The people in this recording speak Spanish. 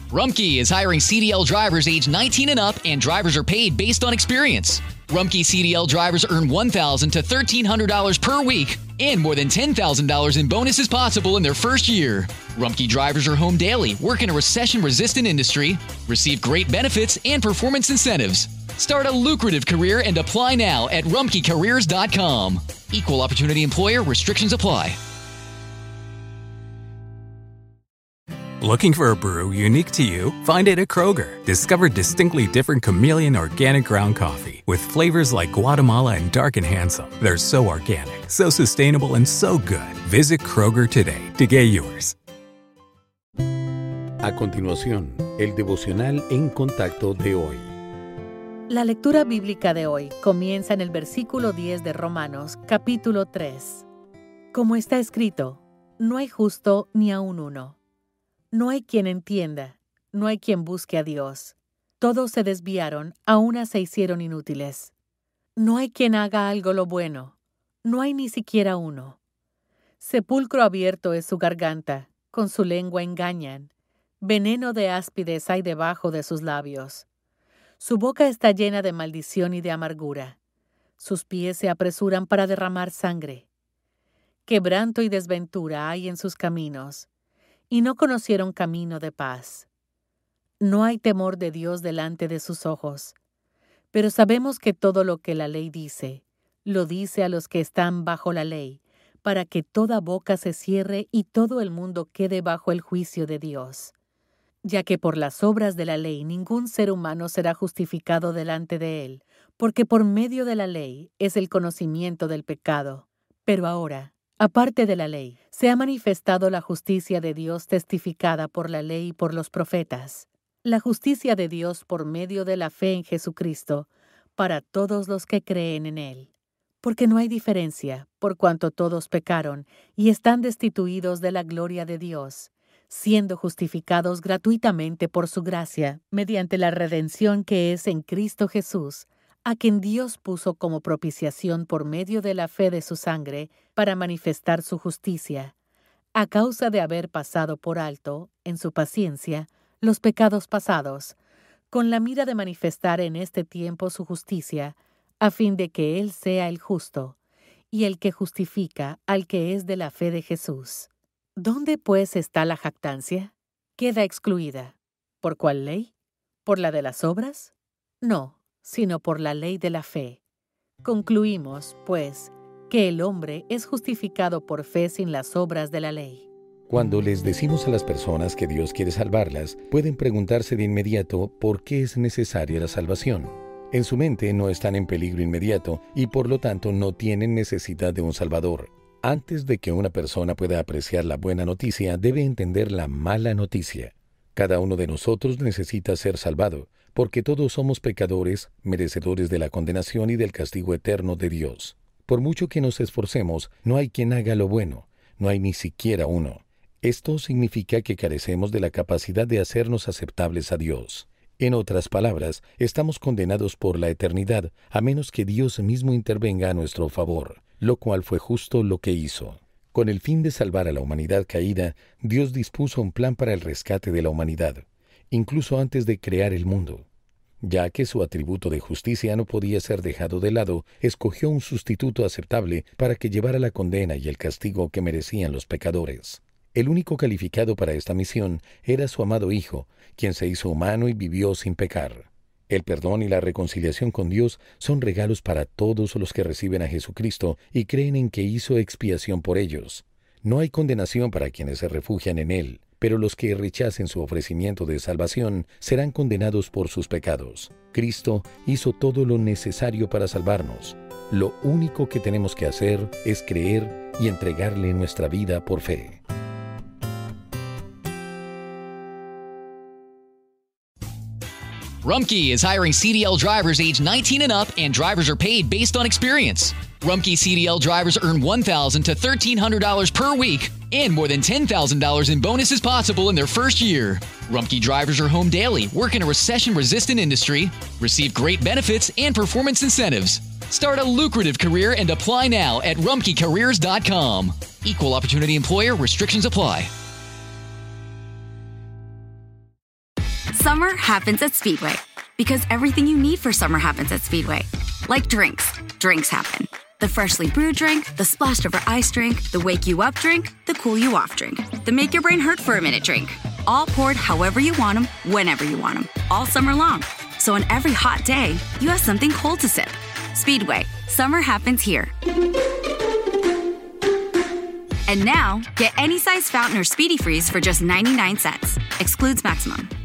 Rumpke is hiring CDL drivers age 19 and up, and drivers are paid based on experience. Rumpke CDL drivers earn $1,000 to $1,300 per week, and more than $10,000 in bonuses possible in their first year. Rumpke drivers are home daily, work in a recession-resistant industry, receive great benefits and performance incentives. Start a lucrative career and apply now at rumpkecareers.com. Equal opportunity employer. Restrictions apply. Looking for a brew unique to you? Find it at Kroger. Discover distinctly different chameleon organic ground coffee with flavors like Guatemala and Dark and Handsome. They're so organic, so sustainable, and so good. Visit Kroger today to get yours. A continuación, el devocional En Contacto de hoy. La lectura bíblica de hoy comienza en el versículo 10 de Romanos, capítulo 3. Como está escrito, no hay justo ni aun uno. No hay quien entienda, no hay quien busque a Dios. Todos se desviaron, a una se hicieron inútiles. No hay quien haga algo lo bueno, no hay ni siquiera uno. Sepulcro abierto es su garganta, con su lengua engañan. Veneno de áspides hay debajo de sus labios. Su boca está llena de maldición y de amargura. Sus pies se apresuran para derramar sangre. Quebranto y desventura hay en sus caminos, y no conocieron camino de paz. No hay temor de Dios delante de sus ojos, pero sabemos que todo lo que la ley dice, lo dice a los que están bajo la ley, para que toda boca se cierre y todo el mundo quede bajo el juicio de Dios. Ya que por las obras de la ley ningún ser humano será justificado delante de él, porque por medio de la ley es el conocimiento del pecado. Pero ahora, aparte de la ley, se ha manifestado la justicia de Dios testificada por la ley y por los profetas. La justicia de Dios por medio de la fe en Jesucristo, para todos los que creen en Él. Porque no hay diferencia, por cuanto todos pecaron y están destituidos de la gloria de Dios, siendo justificados gratuitamente por su gracia, mediante la redención que es en Cristo Jesús, a quien Dios puso como propiciación por medio de la fe de su sangre, para manifestar su justicia, a causa de haber pasado por alto, en su paciencia, los pecados pasados, con la mira de manifestar en este tiempo su justicia, a fin de que Él sea el justo, y el que justifica al que es de la fe de Jesús. ¿Dónde, pues, está la jactancia? Queda excluida. ¿Por cuál ley? ¿Por la de las obras? No, sino por la ley de la fe. Concluimos, pues, que el hombre es justificado por fe sin las obras de la ley. Cuando les decimos a las personas que Dios quiere salvarlas, pueden preguntarse de inmediato por qué es necesaria la salvación. En su mente no están en peligro inmediato y por lo tanto no tienen necesidad de un Salvador. Antes de que una persona pueda apreciar la buena noticia, debe entender la mala noticia. Cada uno de nosotros necesita ser salvado, porque todos somos pecadores, merecedores de la condenación y del castigo eterno de Dios. Por mucho que nos esforcemos, no hay quien haga lo bueno, no hay ni siquiera uno. Esto significa que carecemos de la capacidad de hacernos aceptables a Dios. En otras palabras, estamos condenados por la eternidad, a menos que Dios mismo intervenga a nuestro favor, lo cual fue justo lo que hizo. Con el fin de salvar a la humanidad caída, Dios dispuso un plan para el rescate de la humanidad, incluso antes de crear el mundo. Ya que su atributo de justicia no podía ser dejado de lado, escogió un sustituto aceptable para que llevara la condena y el castigo que merecían los pecadores. El único calificado para esta misión era su amado Hijo, quien se hizo humano y vivió sin pecar. El perdón y la reconciliación con Dios son regalos para todos los que reciben a Jesucristo y creen en que hizo expiación por ellos. No hay condenación para quienes se refugian en Él, pero los que rechacen su ofrecimiento de salvación serán condenados por sus pecados. Cristo hizo todo lo necesario para salvarnos. Lo único que tenemos que hacer es creer y entregarle nuestra vida por fe. Rumpke is hiring CDL drivers age 19 and up, and drivers are paid based on experience. Rumpke CDL drivers earn $1,000 to $1,300 per week, and more than $10,000 in bonuses possible in their first year. Rumpke drivers are home daily, work in a recession-resistant industry, receive great benefits and performance incentives. Start a lucrative career and apply now at rumpkecareers.com. Equal opportunity employer. Restrictions apply. Summer happens at Speedway because everything you need for summer happens at Speedway. Like drinks. Drinks happen. The freshly brewed drink, the splashed over ice drink, the wake you up drink, the cool you off drink, the make your brain hurt for a minute drink. All poured however you want them, whenever you want them, all summer long. So on every hot day, you have something cold to sip. Speedway, summer happens here. And now, get any size fountain or Speedy Freeze for just 99 cents. Excludes maximum.